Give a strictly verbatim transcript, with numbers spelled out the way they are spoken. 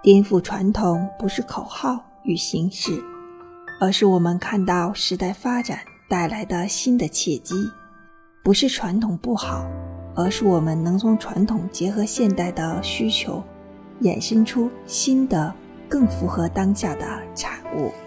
颠覆传统不是口号与形式，而是我们看到时代发展带来的新的契机。不是传统不好，而是我们能从传统结合现代的需求，衍生出新的更符合当下的产物。